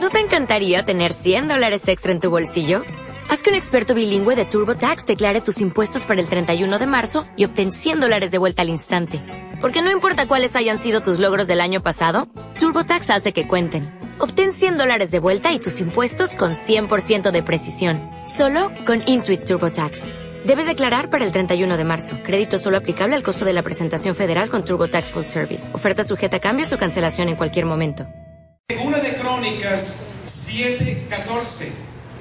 ¿No te encantaría tener $100 extra en tu bolsillo? Haz que un experto bilingüe de TurboTax declare tus impuestos para el 31 de marzo y obtén $100 de vuelta al instante. Porque no importa cuáles hayan sido tus logros del año pasado, TurboTax hace que cuenten. Obtén $100 de vuelta y tus impuestos con 100% de precisión. Solo con Intuit TurboTax. Debes declarar para el 31 de marzo. Crédito solo aplicable al costo de la presentación federal con TurboTax Full Service. Oferta sujeta a cambios o cancelación en cualquier momento. Segunda de Crónicas 7:14.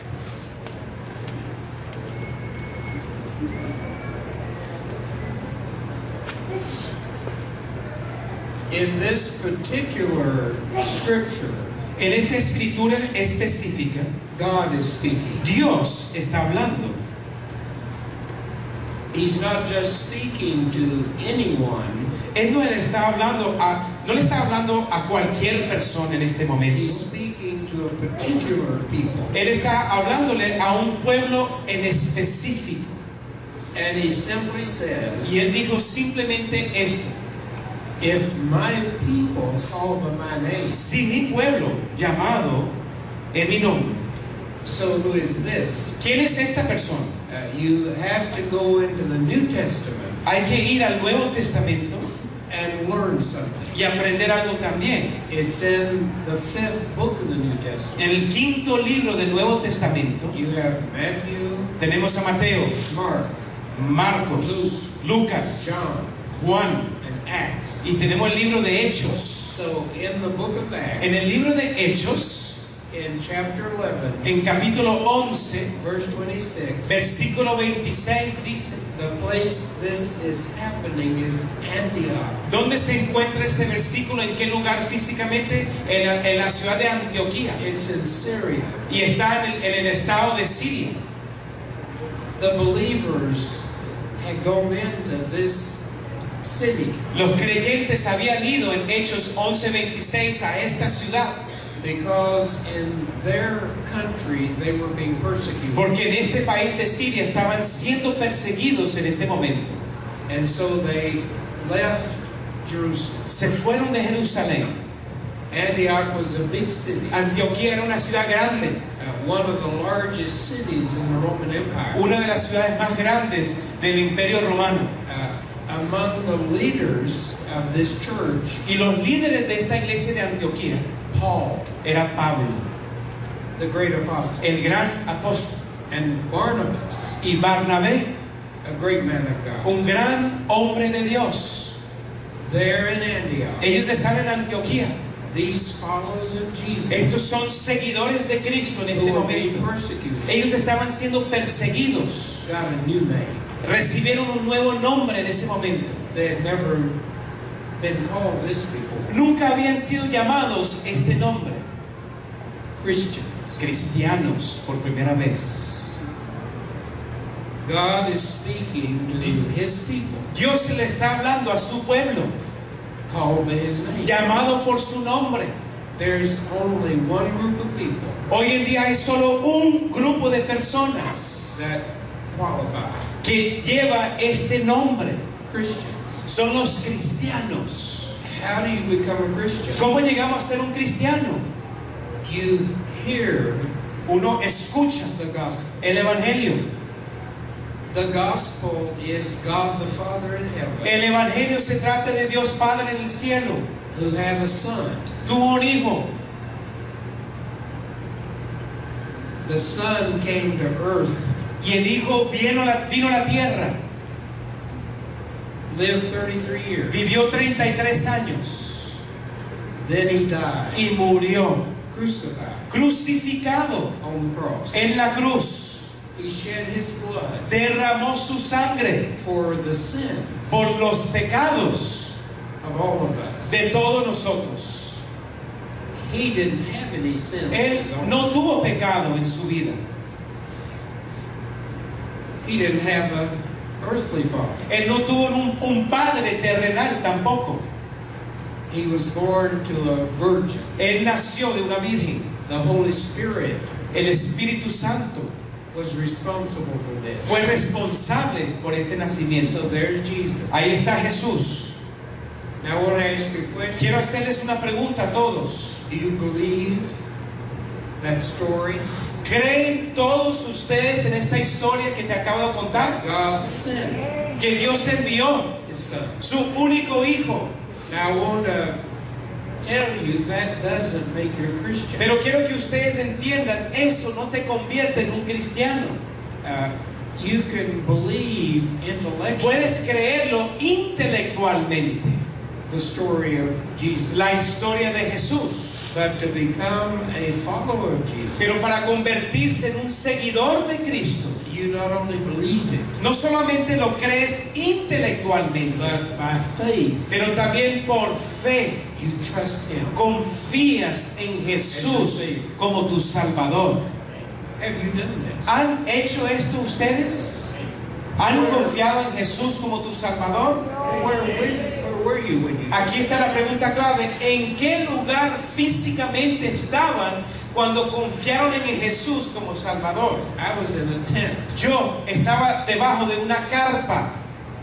In this particular scripture, en esta escritura específica, God is speaking. Dios está hablando. He's not just speaking to anyone. Él no le está hablando a cualquier persona en este momento. He's speaking to a particular people. Él está hablándole a un pueblo en específico. And he simply says, y él dijo simplemente esto: if my people call by my name, si mi pueblo llamado en mi nombre. So who is this? ¿Quién es esta persona? You have to go into the New Testament. Hay que ir al Nuevo Testamento and learn something. Y aprender algo también. It's in the 5th book of the New Testament. En el 5º libro del Nuevo Testamento. You have Matthew. Tenemos a Mateo, Mark, Marcos, Lucas, John, Juan, and Acts. Y tenemos el libro de Hechos. So in the book of Acts, en el libro de Hechos, in chapter 11, en capítulo 11, verse 26, versículo 26 dice: the place this is happening is Antioch. ¿Dónde se encuentra este versículo? ¿En qué lugar físicamente? En la ciudad de Antioquía. It's in Syria. Y está en el estado de Siria. The believers had gone into this city. Los creyentes habían ido en Hechos 11:26 a esta ciudad. Because in their country they were being persecuted. Porque en este país de Siria estaban siendo perseguidos en este momento. And so they left Jerusalem. Se fueron de Jerusalén. Antioch was a big city. Antioquía era una ciudad grande. One of the largest cities in the Roman Empire. Una de las ciudades más grandes del Imperio Romano. Among the leaders of this church, y los líderes de esta iglesia de Antioquía, Paul, era Pablo, the great apostle, el gran apóstol, and Barnabas, y Barnabé, a great man of God, un gran hombre de Dios. There in Antioch, ellos están en Antioquía. These followers of Jesus, estos son seguidores de Cristo en este momento. Ellos estaban siendo perseguidos. Got a new name. Recibieron un nuevo nombre en ese momento. They had never been called this before. Nunca habían sido llamados este nombre. Christians. Cristianos por primera vez. God is speaking to His people. Dios le está hablando a su pueblo. Called by His name. Llamado por su nombre. There's only one group of people. Hoy en día hay solo un grupo de personas that qualify. Que lleva este nombre. Christians. Son los cristianos. How do you become a Christian? ¿Cómo llegamos a ser un cristiano? You hear, uno escucha the gospel. El evangelio. The gospel is God the Father in heaven. El evangelio se trata de Dios Padre en el cielo. Who had a son. Tuvo un hijo. The son came to earth. Y el hijo vino a la tierra. Lived 33 years. Vivió 33 años. Then he died. Y murió. Crucified. Crucificado. On the cross. En la cruz. He shed his blood. Derramó su sangre. For the sins. Por los pecados. Of all of us. De todos nosotros. He didn't have any sins. Él no tuvo pecado en su vida. He didn't have an earthly father. Él no tuvo un padre terrenal tampoco. He was born to a virgin. Él nació de una virgen. The Holy Spirit, el Espíritu Santo, was responsible for this. Fue responsable por este nacimiento. So there's Jesus. Ahí está Jesús. Now I want to ask you a question. Quiero hacerles una pregunta a todos. Do you believe that story? ¿Creen todos ustedes en esta historia que te acabo de contar? God sent Que Dios envió His Son. su único hijo. Now I want to tell you that doesn't make you a Christian. Pero quiero que ustedes entiendan, eso no te convierte en un cristiano. You can believe intellectually Puedes creerlo intelectualmente, the story of Jesus, la historia de Jesús. but to become a follower of Jesus, Pero para convertirse en un seguidor de Cristo, you not only believe it, no solamente lo crees intelectualmente, but by faith pero también por fe you trust Him. confías en Jesús como tu Salvador. Have you done this? ¿Han hecho esto ustedes? ¿Han confiado en Jesús como tu Salvador? Where were you when you? Aquí está la pregunta clave. ¿En qué lugar físicamente estaban cuando confiaron en Jesús como Salvador? I was in a tent. Yo estaba debajo de una carpa.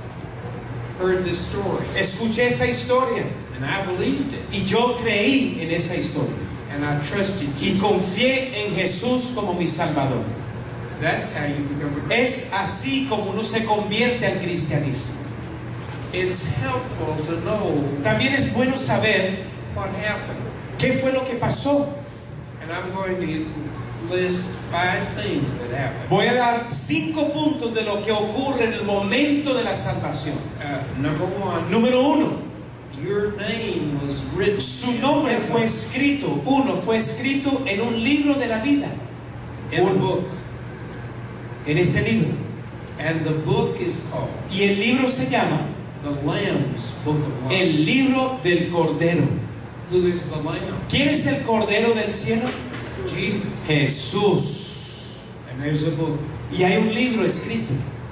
Heard this story, Escuché esta historia and I believed it, y yo creí en esa historia. and I trusted Y Jesus. confié en Jesús como mi Salvador. That's how you become a Christian. Es así como uno se convierte al cristianismo. It's helpful to know También es bueno saber what happened, qué fue lo que pasó. and I'm going to list 5 things that happened. Voy a dar 5 puntos de lo que ocurre en el momento de la salvación. Number 1, Número 1, your name was written su nombre fue escrito. Fue escrito en un libro de la vida. in a book, En este libro. and the book is called Y el libro se llama the Lamb's Book of Life. El libro del Cordero. Who is the Lamb? ¿Quién es el Cordero del cielo? Jesus. Jesús. And there's a book. Y hay un libro escrito.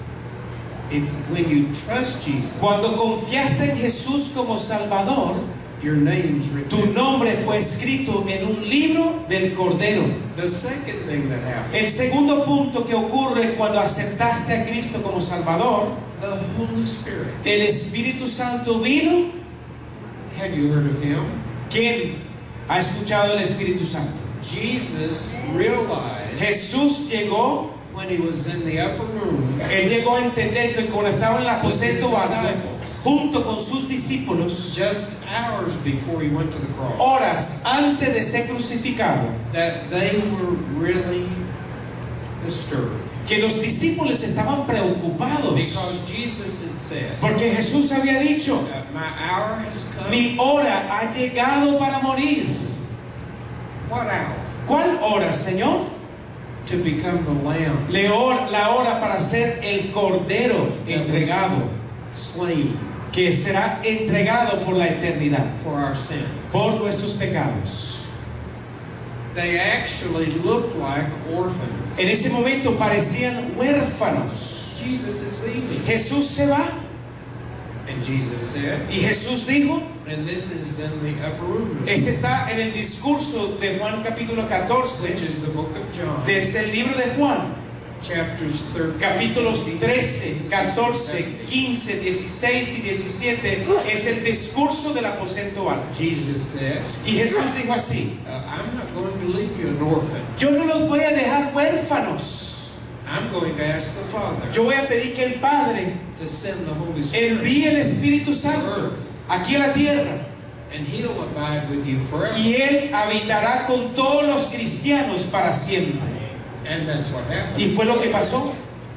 When you trust Jesus, Cuando confiaste en Jesús como Salvador, your name's tu written. nombre fue escrito en un libro del Cordero. The second thing that happened, El segundo punto que ocurre cuando aceptaste a Cristo como Salvador, the Holy Spirit. el Espíritu Santo vino. Have you heard of Him? ¿Quién ha escuchado el Espíritu Santo? Jesus realized Jesús llegó, when He was in the upper room él llegó a entender que cuando estaba en el aposento alto, junto con sus discípulos, just hours before He went to the cross, horas antes de ser crucificado, that they were really disturbed que los discípulos estaban preocupados, because Jesus had said, porque Jesús había dicho, my hour has come. mi hora ha llegado para morir. What hour? ¿Cuál hora, Señor? To become the Lamb La hora para ser el Cordero entregado, slain que será entregado por la eternidad, for our sins. por nuestros pecados. They actually looked like orphans. En ese momento parecían huérfanos. Jesus is leaving. Jesús se va And Jesus said, y Jesús dijo, and this is in the upper room, este está en el discurso de Juan capítulo which 14, is the book of John, desde el libro de Juan, chapters 13, capítulos 13, 14, 15, 16 y 17, es el discurso del aposento alto. Jesus said, Y Jesús dijo así, I'm not going to leave you an orphan. yo no los voy a dejar huérfanos. I'm going to ask the Father Yo voy a pedir que el Padre to send the Holy Spirit, envíe el Espíritu Santo aquí a la tierra and He'll abide with you forever. y Él habitará con todos los cristianos para siempre. And that's what happened. Y fue lo que pasó.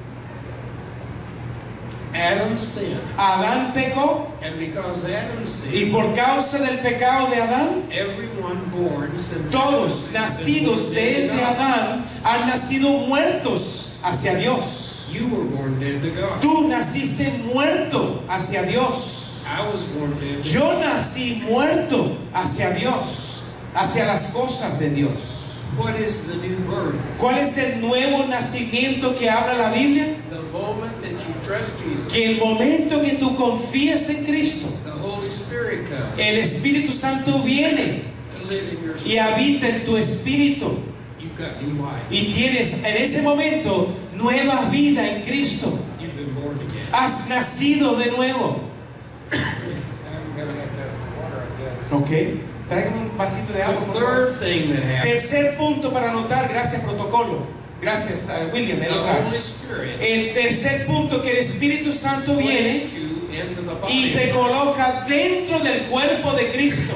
Adam sinned. Adán pecó And because Adam y sinned, por causa del pecado de Adán, everyone born since todos nacidos desde Adán han nacido muertos hacia Dios. You were born dead to God. Tú naciste muerto hacia Dios. I was born dead to Yo nací muerto hacia Dios, hacia las cosas de Dios. What is the new birth? ¿Cuál es el nuevo nacimiento que habla la Biblia? The moment that you trust Jesus, Que el momento que tú confías en Cristo, the Holy Spirit comes el Espíritu Santo viene to live in your y spirit. habita en tu espíritu. You've got new life. Y tienes en ese momento nueva vida en Cristo. You've been born again. Has nacido de nuevo. I'm going to have to have water, I guess. Ok. Traigan un vasito de agua, The por favor. third thing that happens, Tercer punto para anotar, gracias protocolo. Gracias a William. the Holy Spirit El tercer punto, que el Espíritu Santo viene placed you into the y body. te coloca dentro del cuerpo de Cristo.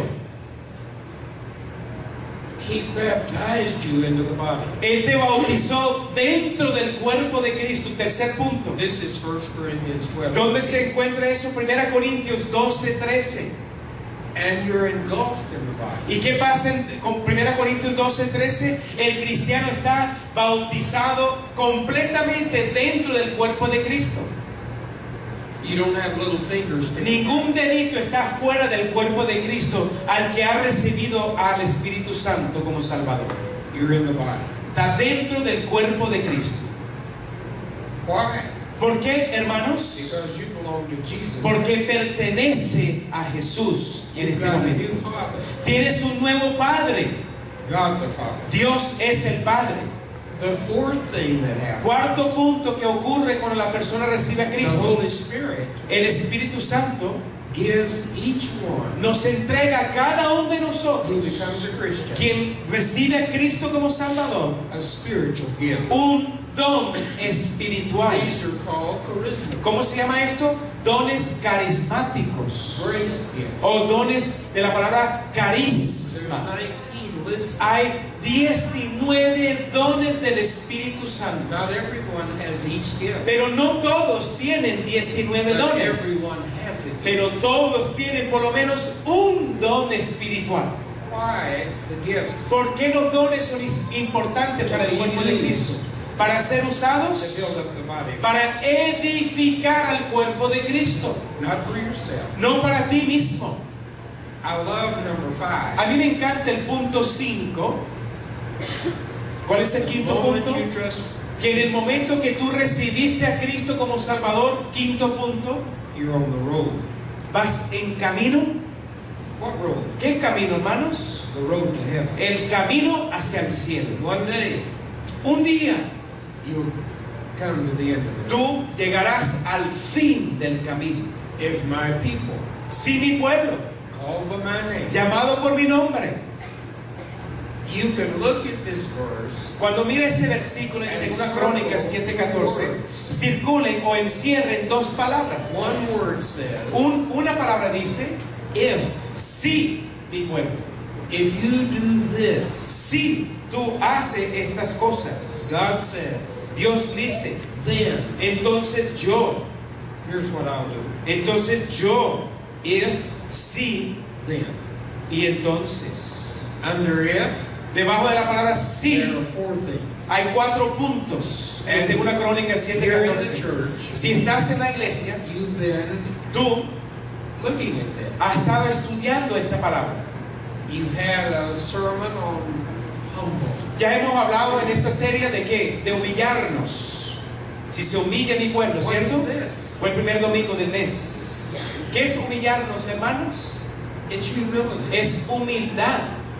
He baptized you into the body. Él te bautizó dentro del cuerpo de Cristo. Tercer punto. This is 1 Corinthians 12. ¿Dónde se encuentra eso? 1 Corintios 12, 13. And you're engulfed in the body. ¿Y qué pasa con 1 Corintios 12, 13? El cristiano está bautizado completamente dentro del cuerpo de Cristo. You don't have little fingers sticking Ningún dedito está fuera del cuerpo de Cristo al que ha recibido al Espíritu Santo como Salvador. out. You're in the body. Está dentro del cuerpo de Cristo. Why? ¿Por qué, hermanos? Because you belong to Jesus. Porque pertenece a Jesús en You've este got a momento. new Father, Tienes un nuevo Padre. God the Father. Dios es el Padre. The fourth thing that happens, Cuarto punto que ocurre cuando la persona recibe a the Cristo. Holy Spirit El Espíritu Santo gives each one nos entrega a cada uno de who nosotros, becomes a Christian quien recibe a Cristo como Salvador, a spiritual gift. un don espiritual. These are called charisma. ¿Cómo se llama esto? Dones carismáticos Grace gifts. o dones de la palabra There's carisma. 19 listed. Hay 19 dones del Espíritu Santo, Not everyone has each gift. pero no todos tienen 19 But dones, everyone has it. pero todos tienen por lo menos un don espiritual. Why the gifts? ¿Por qué los dones son importantes para el cuerpo de Cristo? Para ser To usados, build up the body. para edificar al cuerpo de Cristo, Not for yourself. no para ti mismo. I love number 5. A mí me encanta el punto 5. ¿Cuál es el The quinto moment punto? you trust, Que en el momento que tú recibiste a Cristo como Salvador, quinto punto, you're on the road. vas en camino. What road? ¿Qué camino, hermanos? The road to heaven. El camino hacia el cielo. One day, Un día you'll come to the end of the road. tú llegarás al fin del camino. If my people, Si mi pueblo, called by my name, llamado por mi nombre, you can look at this verse cuando mire ese versículo en 2 Crónicas 7:14, circulen o encierren dos palabras. One word says, Una palabra dice, if si mi pueblo. you do this, Si tú haces estas cosas, God says, Dios dice, then entonces yo, here's what I'll do. entonces yo, If, si, then. y entonces. Under if, Debajo de la palabra there si, are 4 things. hay 4 puntos. En And 2 Crónicas Here in the 7:14. church, Si estás en la iglesia, you've been tú looking at this. has estado estudiando esta palabra. You've had a sermon on humble. Ya hemos hablado en esta serie de qué? De humillarnos. Si se humilla mi pueblo, What ¿cierto? is this? Fue el primer domingo del mes. ¿Qué es humillarnos, hermanos? It's humility. Es humildad.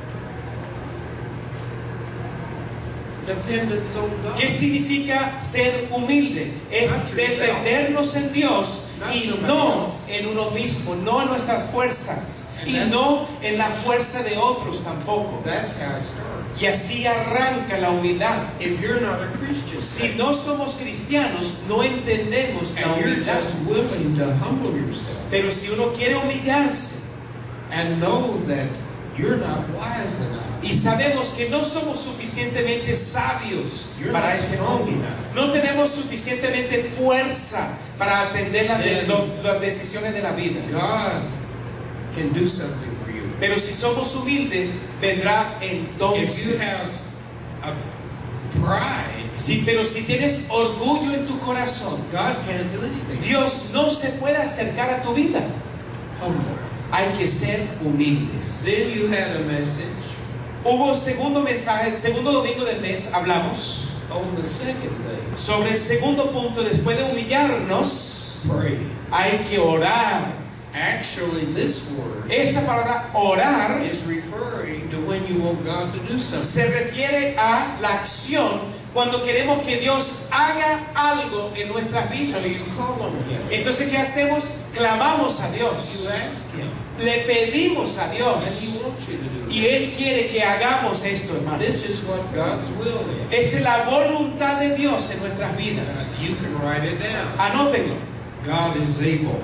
Dependence on God. ¿Qué significa ser humilde? Es Not yourself. defendernos en Dios Not y somebody no else. en uno mismo, no en nuestras fuerzas And y that's- no en la fuerza de otros tampoco. That's how it starts. Y así arranca la humildad. If you're not a Christian, Si no somos cristianos, no entendemos la and you're humildad. just willing to humble yourself Pero si uno quiere humillarse and know that you're not wise enough, y sabemos que no somos suficientemente sabios You're para not este strong mundo, enough. no tenemos suficientemente fuerza para atender Then- las decisiones de la vida. God can do something for you. Pero si somos humildes, vendrá If you entonces. have a pride, Pero si tienes orgullo en tu corazón, God can't do anything. Dios no se puede acercar a tu vida. Humble. Hay que ser humildes. Then you had a message Hubo segundo mensaje, el segundo domingo del mes hablamos on the second day. sobre el segundo punto. Después de humillarnos, Pray. hay que orar. Actually, this word Esta palabra orar is referring to when you want God to do something. se refiere a la acción cuando queremos que Dios haga algo en nuestras So you vidas. call on Him. Entonces, ¿qué hacemos? Clamamos a You Dios. ask Him. Le pedimos a And He Dios. wants you to do Y it. Él quiere que hagamos esto, hermanos. This is what God's will is. Esta es la voluntad de Dios en nuestras vidas. You can write it down. Anótenlo. God is able.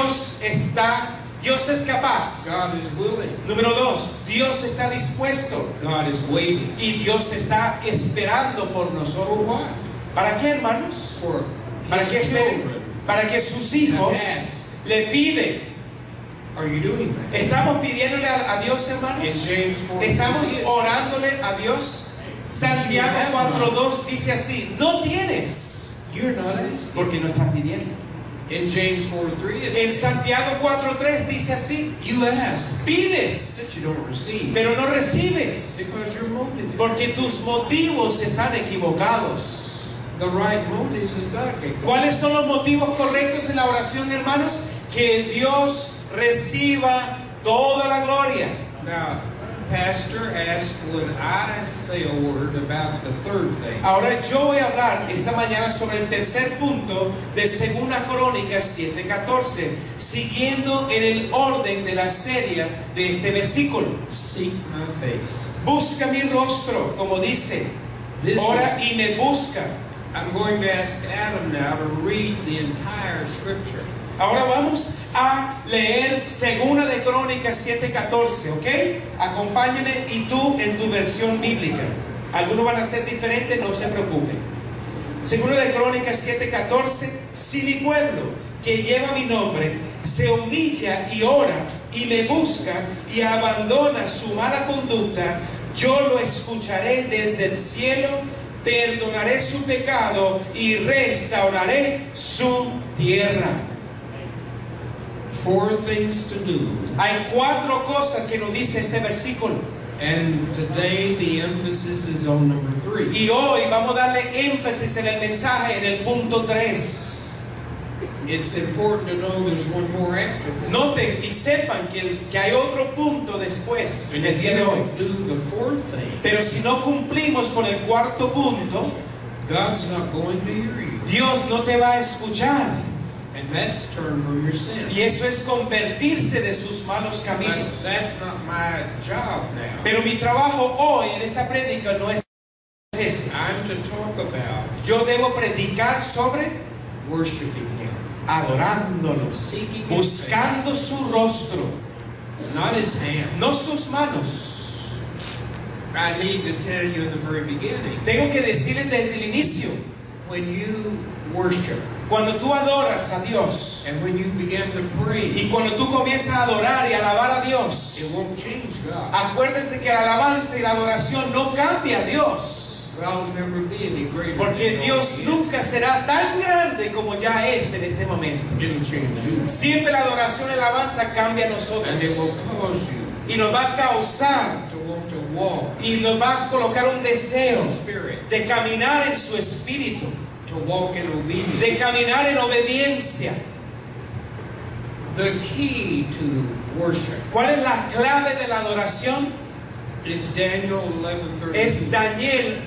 Dios es capaz. God is willing. Número 2, Dios está dispuesto. God is waiting. Y Dios está esperando por nosotros. For what? ¿Para qué, hermanos? For Para que His esperen. children. Para que sus hijos Ask. le piden. Are you doing that? ¿Estamos pidiéndole a Dios, In hermanos? James 4, ¿Estamos it is. orándole a Dios? Santiago 4:2 dice así: no tienes, You're not asking. porque no estás pidiendo. In James 4:3, it En says, Santiago 4:3 dice así: you ask, but pides, you don't receive. pero no recibes, Because your motive is porque tus motivos están equivocados. the right motives is God gave. ¿Cuáles son los motivos correctos en la oración, hermanos? Que Dios reciba toda la gloria. Now, Pastor asked, would I say a word about the third thing? Ahora yo voy a hablar esta mañana sobre el tercer punto de 2 Crónicas 7:14, siguiendo en el orden de la serie de este versículo. Seek my face. Busca mi rostro, como dice, This ora is- y me busca. I'm going to ask Adam now to read the entire scripture. Ahora vamos a leer 2 de Crónicas 7:14, ¿ok? Acompáñame y tú en tu versión bíblica. Algunos van a ser diferentes, no se preocupen. 2 de Crónicas 7:14, si mi pueblo que lleva mi nombre se humilla y ora y me busca y abandona su mala conducta, yo lo escucharé desde el cielo, perdonaré su pecado y restauraré su tierra. 4 things to do. Hay 4 cosas que nos dice este versículo. And today the emphasis is on number 3. Y hoy vamos a darle énfasis en el mensaje en el punto 3. It's important to know there's one more after this. Noten y sepan que hay otro punto después And del if día you de hoy. don't do the fourth thing, Pero si no cumplimos con el cuarto punto, God's not going to hear you. Dios no te va a escuchar. And that's turn from your sin. Y eso es convertirse de sus malos But caminos. that's not my job now. Pero mi trabajo hoy en esta prédica no es ese. I'm to talk about Yo debo predicar sobre worshiping Him. adorándolo, Seeking His buscando su rostro, face, not His hand. no sus manos. I need to tell you in the very beginning, Tengo que decirles desde el inicio, when you worship cuando tú adoras a Dios and when you begin to praise, y cuando tú comienzas a adorar y alabar a Dios, it won't change God. acuérdense que la alabanza y la adoración no cambia a Dios, God will never be any greater porque than Dios He is. nunca será tan grande como ya es en este momento. It'll change you. Siempre la adoración y la alabanza cambia a nosotros And it will cause you y nos va a causar to want to walk y nos va a colocar un deseo in spirit, de caminar en su espíritu, to walk in obedience. de caminar en obediencia. The key to worship ¿Cuál es la clave de la adoración? is Daniel 11:32. Es Daniel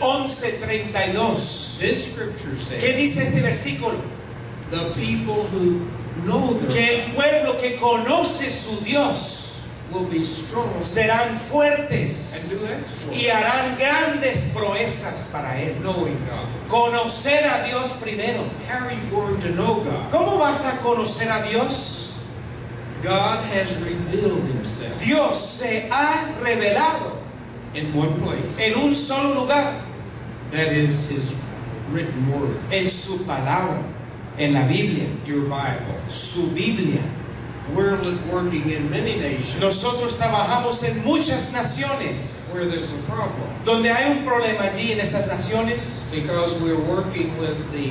11:32. This scripture ¿Qué says, dice este versículo? the people who know Que their el pueblo que conoce su Dios will be strong serán and fuertes do exploits, y harán grandes proezas para Él. knowing God. Conocer a Dios primero. How are you going to know God? ¿Cómo vas a conocer a Dios? God has revealed Himself Dios se ha revelado in one place. en un solo lugar, That is His written word, en su palabra, en la Biblia, your Bible. su Biblia. We're working in many nations Nosotros trabajamos en muchas naciones where there's a problem donde hay un problema allí en esas naciones because we're working with the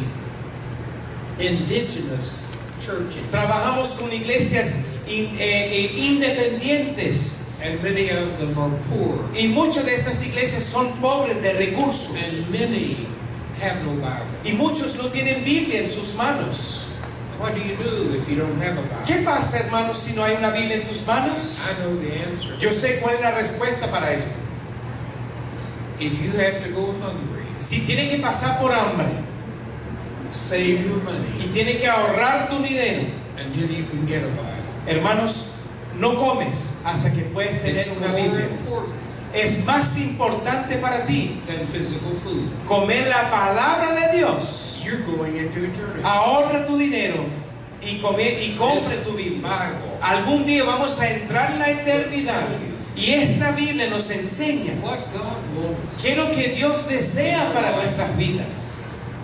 indigenous churches. trabajamos con iglesias independientes And many of them are poor. y muchas de estas iglesias son pobres de recursos And many have no Bible. y muchos no tienen Biblia en sus manos. What do you do if you don't have a Bible? ¿Qué pasa, hermanos, si no hay una Biblia en tus manos? I know the answer. Yo sé cuál es la respuesta para esto. If you have to go hungry, Si tiene que pasar por hambre save your money y tiene que ahorrar tu dinero, until you can get a Bible. hermanos, no comes hasta que puedes tener It's una more Biblia. important Es más importante para ti than physical food. comer la palabra de Dios. You're going into eternity. Ahorra tu dinero y compre tu Biblia. Bible, Algún día vamos a entrar en la eternidad y esta Biblia nos enseña what God wants. qué es lo que Dios desea para nuestras vidas.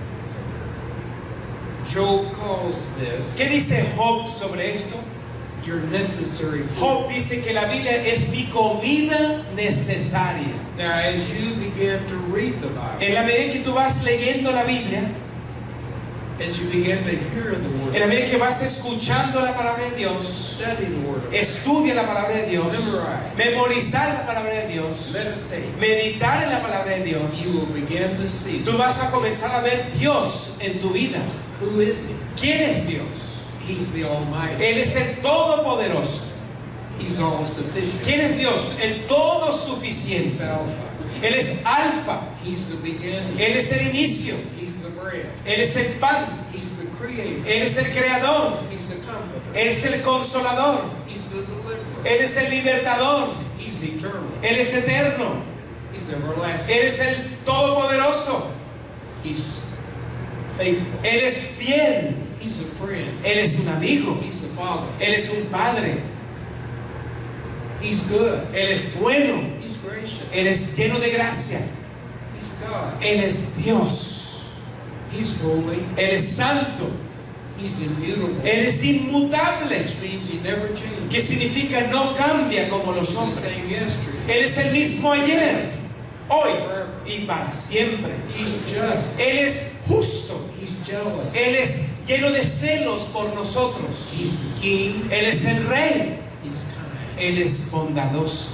Job calls this ¿Qué dice Job sobre esto? your necessary food. Job dice que la Biblia es mi comida necesaria. Now, as you begin to read the En Bible, la medida que tú vas leyendo la Biblia, as you begin to hear the Word, en la medida que vas escuchando la palabra de Dios, study the Word, estudia la palabra de Dios, Memorize. memorizar la palabra de Dios, meditate, meditar en la palabra de Dios, you will begin to see tú vas a comenzar a ver Dios en tu vida. who is He. ¿Quién es Dios? He's the Almighty. Él es el Todopoderoso. He's all sufficient. ¿Quién es Dios? El Todo He's Suficiente. Alpha. Él es Alfa. He's the beginning. Él es el inicio. He's the bread. Él es el pan. He's the creator. Él es el creador. He's the comforter. Él es el consolador. He's the deliverer. Él es el libertador. He's eternal. Él es eterno. He's everlasting. Él es el todopoderoso. He's faithful. Él es fiel. He's a friend. Él es un amigo. He's the Father. Él es un padre. He's good. Él es bueno. He's gracious. Él es lleno de gracia. He's God. Él es Dios. He's holy. Él es santo. He's immutable. Él es inmutable. Which means He never changes. Que significa no cambia como los He's the same hombres. yesterday. Él es el mismo ayer, hoy y para siempre. He's just. Él es justo. He's jealous. Él es lleno de celos por nosotros. He's the king. Él es el rey. He's kind. Él es bondadoso.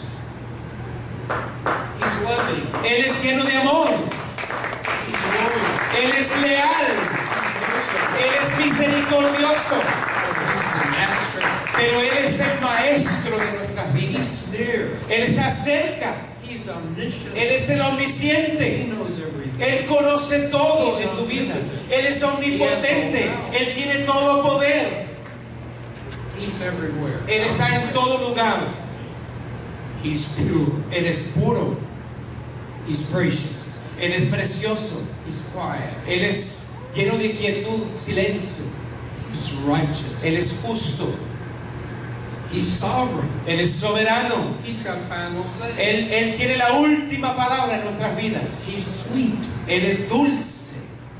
He's loving. Él es lleno de amor. He's loyal. Él es leal. Él es misericordioso. He's the master. Pero Él es el maestro de nuestras He's vidas. near. Él está cerca. He's omniscient. Él es el He omnisciente. knows everything. Él conoce todo en tu vida. Él es omnipotente. Él tiene todo poder. He's everywhere. Él está en todo lugar. He's pure. Él es puro. He's gracious. Él es precioso. He's quiet. Él es lleno de quietud, silencio. He's righteous. Él es justo. He's sovereign. Él es soberano. He's got final say. Él tiene la última palabra en nuestras vidas. He's sweet. Él es dulce.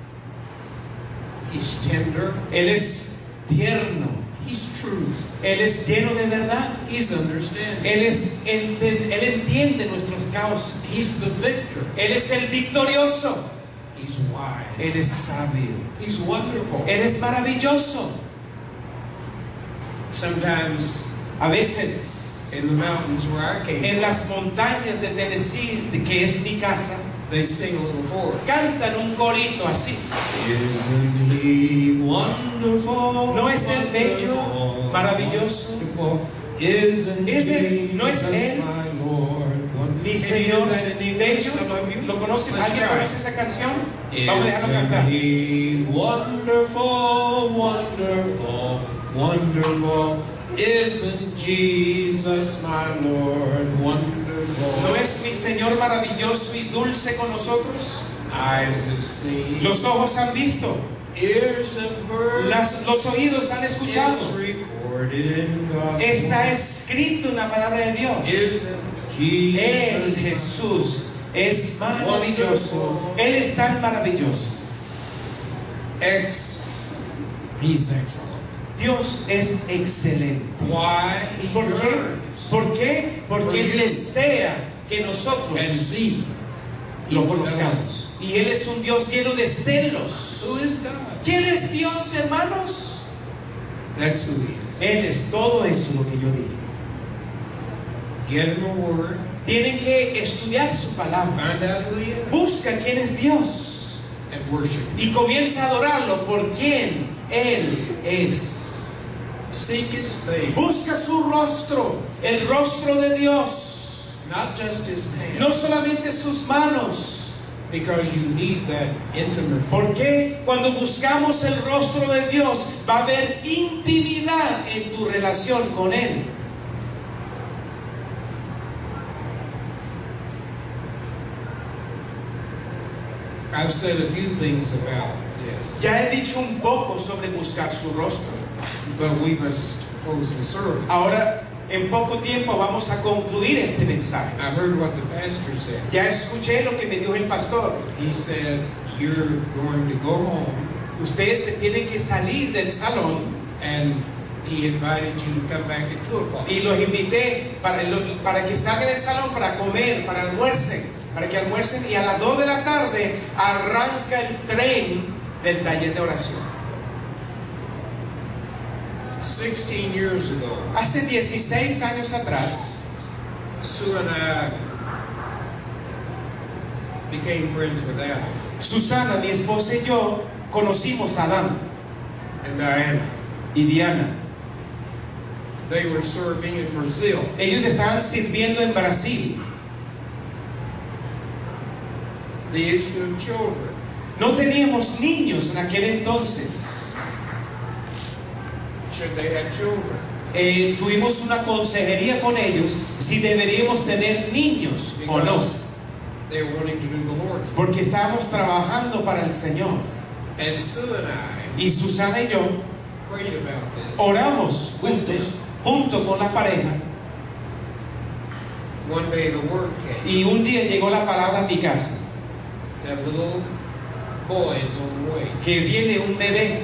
He's tender. Él es tierno. He's truth. Él es lleno de verdad. He's understanding. Él entiende nuestros causas. He's the victor. Él es el victorioso. He's Él wise. es sabio. He's wonderful. Él es maravilloso. Sometimes A veces, in the mountains where I came en from, las montañas de Tennessee, que es mi casa, they sing a little chorus. cantan un corito así. Isn't He wonderful? ¿No es Él bello, wonderful, maravilloso? wonderful? Isn't ¿Es Él- no es Jesus Él my Lord? Wonderful? Mi Can you Señor do that in English, bello? some of you? ¿Lo conocen? Let's ¿Alguien try. conoce esa canción? Vamos a dejarlo Isn't cantar. He wonderful, wonderful, wonderful? Isn't Jesus my Lord wonderful? ¿No es mi Señor maravilloso y dulce con nosotros? Eyes have seen, Los ojos han visto, ears have heard, los oídos han escuchado. it's recorded in God's Está word. escrito en la palabra de Dios. Isn't Él, Jesus Jesús, es maravilloso. Él es tan maravilloso. He's excellent. Dios es excelente. Why? He ¿Por qué? yearns ¿Por qué? Porque Él desea que nosotros and see. lo He's conozcamos. Y Él es un Dios lleno de celos. Who is God? ¿Quién es Dios, hermanos? That's who He is. Él es todo eso lo que yo dije. Get in the Word. Tienen que estudiar su palabra. Find out who He is. Busca quién es Dios. and worship Him. Y comienza a adorarlo por quien Él es. Seek His face, Busca su rostro, el rostro de Dios. not just His hand, No solamente sus manos. because you need that intimacy. Porque cuando buscamos el rostro de Dios, va a haber intimidad en tu relación con Él. I've said a few things about this, Ya he dicho un poco sobre buscar su rostro. but we must close the service. Ahora, en poco tiempo vamos a concluir este mensaje. I heard what the pastor said. Ya escuché lo que me dijo el pastor. He said, you're going to go home, Ustedes se tienen que salir del salón and he invited you to come back at 2 o'clock. y los invité para que salgan del salón para comer, para que almuercen y a las 2 de la tarde arranca el tren del taller de oración. 16 years ago, Hace 16 años atrás, Sue and I became friends with Adam Susana, mi esposa y yo conocimos a Adán and Diana. y Diana. They were serving in Brazil. Ellos estaban sirviendo en Brasil. The issue of children. No teníamos niños en aquel entonces. Should they have children? Tuvimos una consejería con ellos si deberíamos tener niños o no, They were wanting to do the Lord's work. porque estábamos trabajando para el Señor. And Sue and I Y Susana y yo prayed about this. oramos junto con la pareja, One day the word came y un día llegó la palabra a mi casa, that little boy is on the way. que viene un bebé,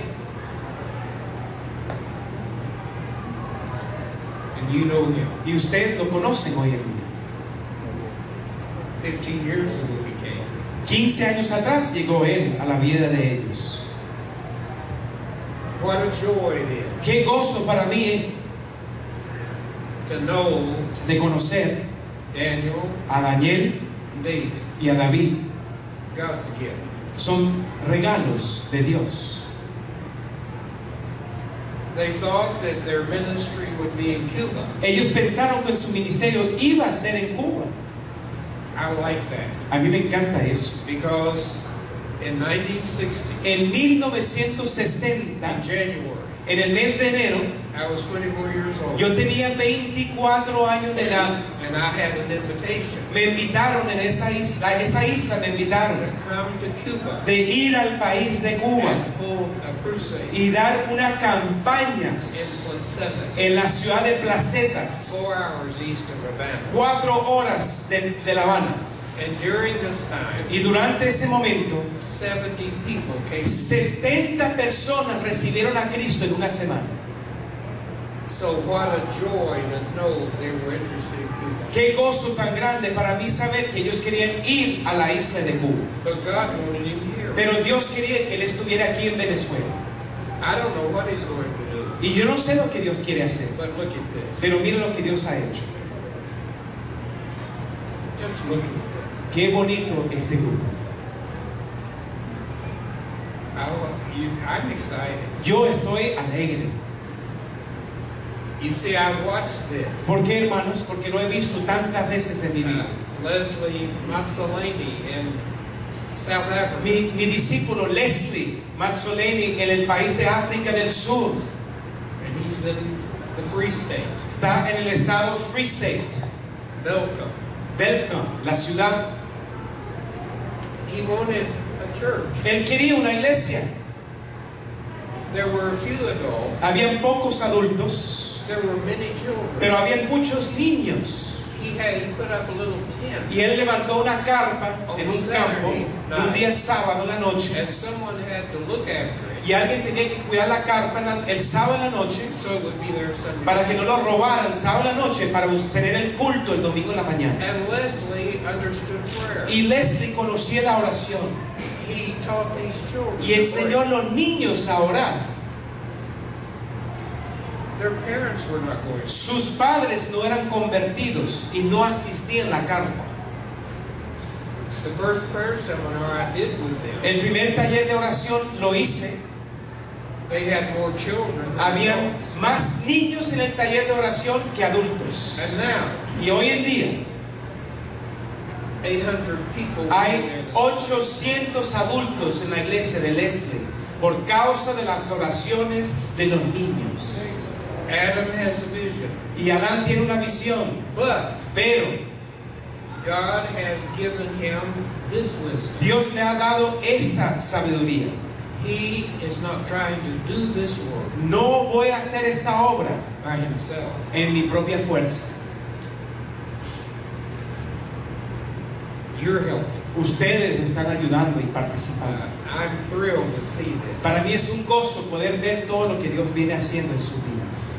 And you know him. y ustedes lo conocen hoy en día. 15 years ago he came. 15 años atrás llegó él a la vida de ellos. What a joy it is Qué gozo para mí to know de conocer Daniel a Daniel and David, y a David. God's gift. Son regalos de Dios. They thought that their ministry would be in Cuba. Ellos pensaron que su ministerio iba a ser en Cuba. I like that A mí me encanta eso. because in 1960, En 1960, in January, en el mes de enero, I was 24 years old, yo tenía 24 años de edad. and I had an invitation Me invitaron en esa isla me invitaron to come to Cuba de ir al país de Cuba and hold a crusade y dar unas in campañas Placetas, en la ciudad de Placetas, 4 hours east of Havana. 4 horas de La Habana. And during this time, Y durante ese momento, 70 people came. 70 personas recibieron a Cristo en una semana. So what a joy to know they were interested in Cuba. Qué gozo tan grande para mí saber que ellos querían ir a la isla de Cuba. But God wanted him here. Pero Dios quería que él estuviera aquí en Venezuela. I don't know what he's going to do, Y yo no sé lo que Dios quiere hacer. but look at this. Pero mira lo que Dios ha hecho. Just look at this. Qué bonito este grupo. I'm excited. Yo estoy alegre. You see, I've watched this. ¿Por qué, hermanos? Porque lo he visto tantas veces en mi vida. Leslie Mazzolini in South Africa. Mi discípulo Leslie Mazzolini en el país de África del Sur. And he's in the Free State. Está en el estado Free State. Welcome, la ciudad. He wanted a church. Él quería una iglesia. There were a few adults. Habían pocos adultos, There were many children. pero habían muchos niños. He put up a little tent. Y él levantó una carpa en un campo, un día sábado en la noche, And someone had to look after it. y alguien tenía que cuidar la carpa el sábado en la noche So it would be there Sunday. para que no lo robaran sábado en la noche para tener el culto el domingo en la mañana. And Leslie understood prayer. Y Leslie conocía la oración He taught these children. y enseñó a los niños a orar. Their parents were not going. Sus padres no eran convertidos y no asistían a la carpa. The first prayer seminar I did with them, El primer taller de oración lo hice. they had more children than Había adults. más niños en el taller de oración que adultos. And now, Y hoy en día 800 people will be hay there this 800 adultos en la iglesia de Leslie por causa de las oraciones de los niños. Adam has a vision, Y Adán tiene una visión, but pero God has given him this wisdom. Dios le ha dado esta sabiduría. He is not trying to do this work No voy a hacer esta obra by himself. en mi propia fuerza. You're helping. Ustedes están ayudando y participando. I'm thrilled to see this. Para mí es un gozo poder ver todo lo que Dios viene haciendo en sus vidas.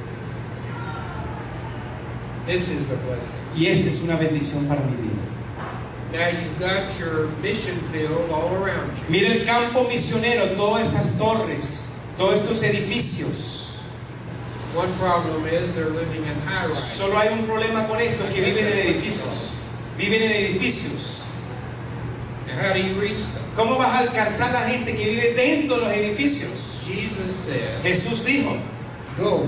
This is a blessing. Y esta es una bendición para mi vida. Now you've got your mission field all around you. Mira el campo misionero, todas estas torres, todos estos edificios. One problem is they're living in high rise. Solo hay un problema con esto, que viven en edificios. Viven en edificios. How do you reach them? ¿Cómo vas a alcanzar la gente que vive dentro de los edificios? Jesus said, Jesús dijo, go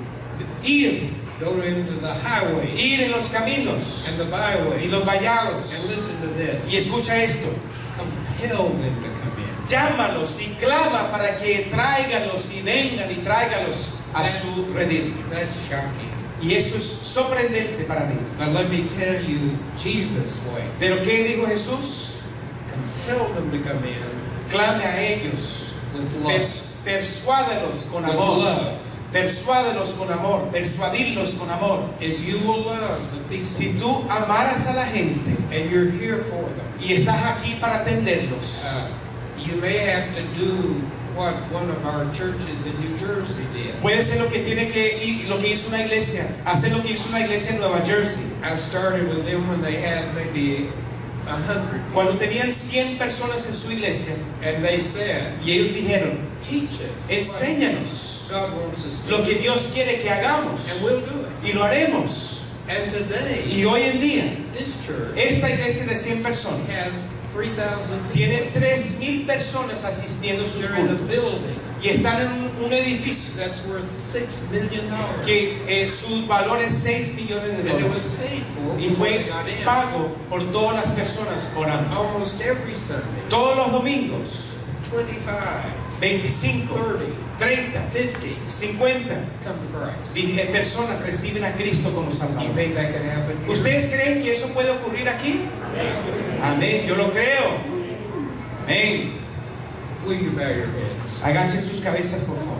into the highway ir en los caminos and the y byways los vallados. and listen to this. Y escucha esto, Compel them to come in. llámalos y clama para que tráiganlos y vengan y tráigalos a su redil. That's shocking. Y eso es sorprendente para mí. But let me tell you Jesus' way. Pero ¿qué dijo Jesús? Compel them to come in Clame a ellos, with love. persuádelos con With amor, love. persuádelos con amor, persuadirlos con amor. If you will love the people Si tú amaras a la gente and you're here for them, y estás aquí para atenderlos, you may have to do what one of our churches in New Jersey did. puede ser lo que tiene que ir, lo que hizo una iglesia, hacer lo que hizo una iglesia en Nueva Jersey. I started with them when they had maybe 100, Cuando tenían 100 personas en su iglesia and they said, y ellos dijeron, teach us enséñanos what God wants us to lo do, que Dios quiere que hagamos and we'll do it. y lo haremos. And today, Y hoy en día, this church esta iglesia de 100 personas has 3,000 tiene people. 3,000 personas asistiendo a sus They're in a cultos building y están en un edificio that's worth $6 million. que su valor es 6 millones de And it was dólares paid for y before fue they got in. pago por todas las personas orando. Almost every Sunday, Todos los domingos, 25, 25, 30, 30, 50 50 come to Christ. personas reciben a Cristo como You Salvador. think that can happen here? ¿Ustedes creen que eso puede ocurrir aquí? Amén, yo lo creo. Amén. Will you bow your heads? Agachen sus cabezas, por favor.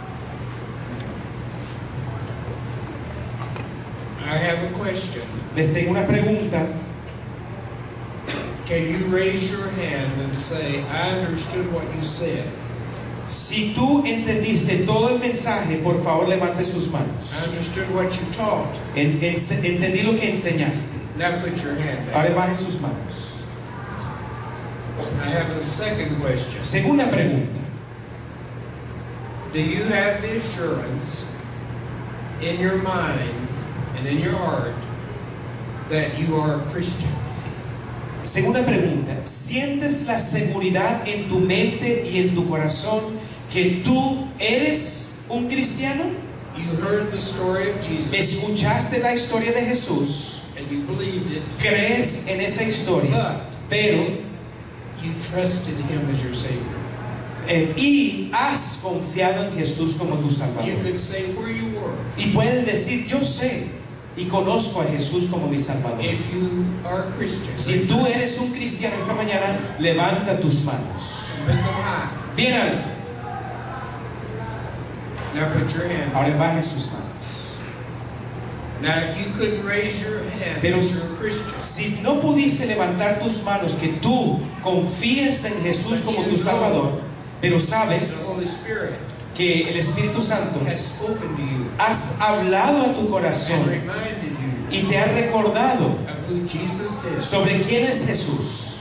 I have a question. Les tengo una pregunta. Can you raise your hand and say, I understood what you said? Si tú entendiste todo el mensaje, por favor levante sus manos. I understood what you taught. Entendí lo que enseñaste. Now put your hand down. Ahora bajen sus manos. I have a second question. Segunda pregunta. Do you have the assurance in your mind and in your heart that you are a Christian? Segunda pregunta. ¿Sientes la seguridad en tu mente y en tu corazón que tú eres un cristiano? You heard the story of Jesus Escuchaste la historia de Jesús, and you believed it, crees en esa historia, pero you trusted Him as your Savior. y has confiado en Jesús como tu You Salvador. could say where you were. Y puedes decir, yo sé y conozco a Jesús como mi Salvador. If you are a Christian, Si tú eres un cristiano esta mañana, levanta tus manos put them high. bien alto. Now put your hand. Ahora baje sus manos. Now if you couldn't raise your hand Pero as you're a Christian, si no pudiste levantar tus manos, que tú confíes en Jesús como tu Salvador, pero the sabes Holy Spirit que el Espíritu Santo has spoken to you has hablado a tu and corazón reminded you y te ha recordado of who Jesus is, sobre quién es Jesús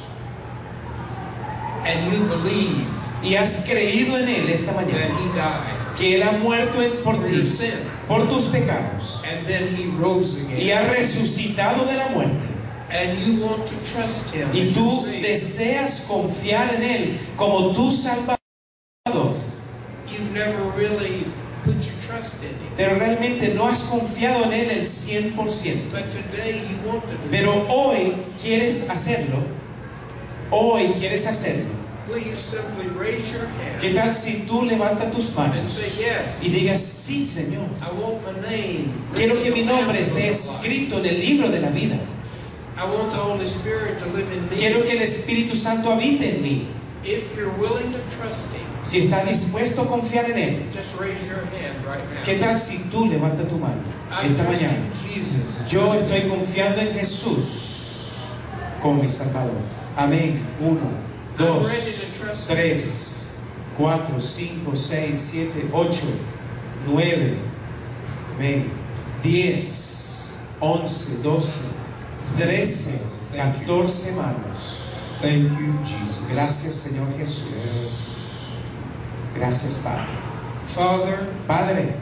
and you believe y has creído en Él esta that mañana, He died que Él ha muerto por for ti, your sins, por tus pecados and then He rose y again, ha resucitado de la muerte, And you want to trust Him y as tú your Savior. deseas confiar en Él como tu Salvador, You've never really put your trust in Him. pero realmente no has confiado en Él el 100%. But today you want to do Pero hoy quieres hacerlo. Hoy quieres hacerlo. it. Will you simply raise your hand ¿Qué tal si tú levantas tus and manos say, yes, y digas, sí, Señor? I want my name. Quiero que written mi in the nombre Lamb's esté Book of Life. escrito en el libro de la vida. I want the Holy Spirit to live in me. Quiero que el Espíritu Santo habite en mí. If you're willing to trust Him, Si estás dispuesto a confiar en Él, just raise your hand right now. ¿qué tal si tú levantas tu mano I'm esta trusting mañana? Jesus as Yo my estoy Savior. confiando en Jesús como mi Salvador. Amén. 1, I'm 2, ready to trust Him. 3, 4, 5, 6, 7, 8, 9, amén. 10, 11, 12, 13, 14 manos. Thank you, Jesus. Gracias, Señor Jesús. Gracias, Padre. Father, Padre,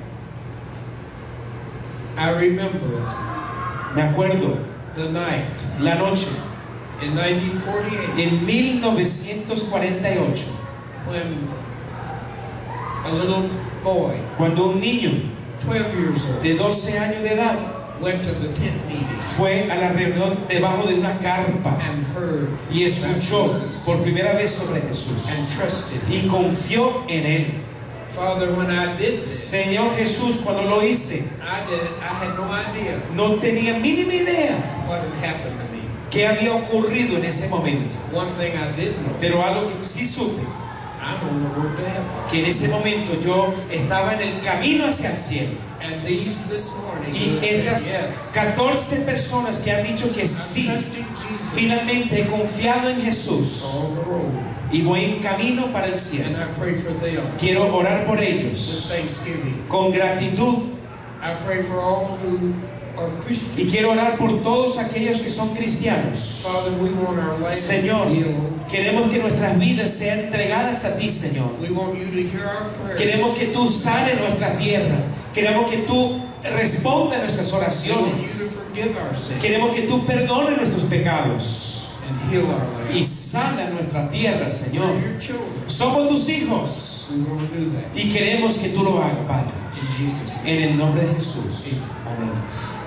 I remember me acuerdo the night la noche in 1948 en 1948 when a little boy, cuando un niño 12 years old, de 12 años de edad went to the tent meeting fue a la reunión debajo de una carpa and heard y escuchó about Jesus por primera vez sobre Jesús and trusted Him. y confió en Él. Father, when I did this, Señor Jesús, cuando lo hice, I had no idea no tenía mínima idea what had happened to me. qué había ocurrido en ese momento. One thing I did know, Pero algo que sí supe, I'm on the road to heaven. que en ese momento yo estaba en el camino hacia el cielo. And these this morning Y who have said, estas yes, 14 personas que han dicho que I'm sí, trusting Jesus finalmente he confiado en Jesús on the road. y voy en camino para el And cielo. I pray for them Quiero orar por with ellos thanksgiving. con gratitud I pray for all who are Christians. y quiero orar por todos aquellos que son cristianos. Father, we want our life Señor, healed. queremos que nuestras vidas sean entregadas a ti, Señor. We want you to hear our prayers. Queremos que tú sanes nuestra tierra. Queremos que tú respondas nuestras We want you oraciones. to forgive our sins Queremos que tú perdones nuestros pecados and heal our land. y sana nuestra tierra, Señor. We're your children. Somos tus hijos We want to do that. y queremos que tú lo hagas, Padre. In Jesus' name. En el nombre de Jesús. Amén.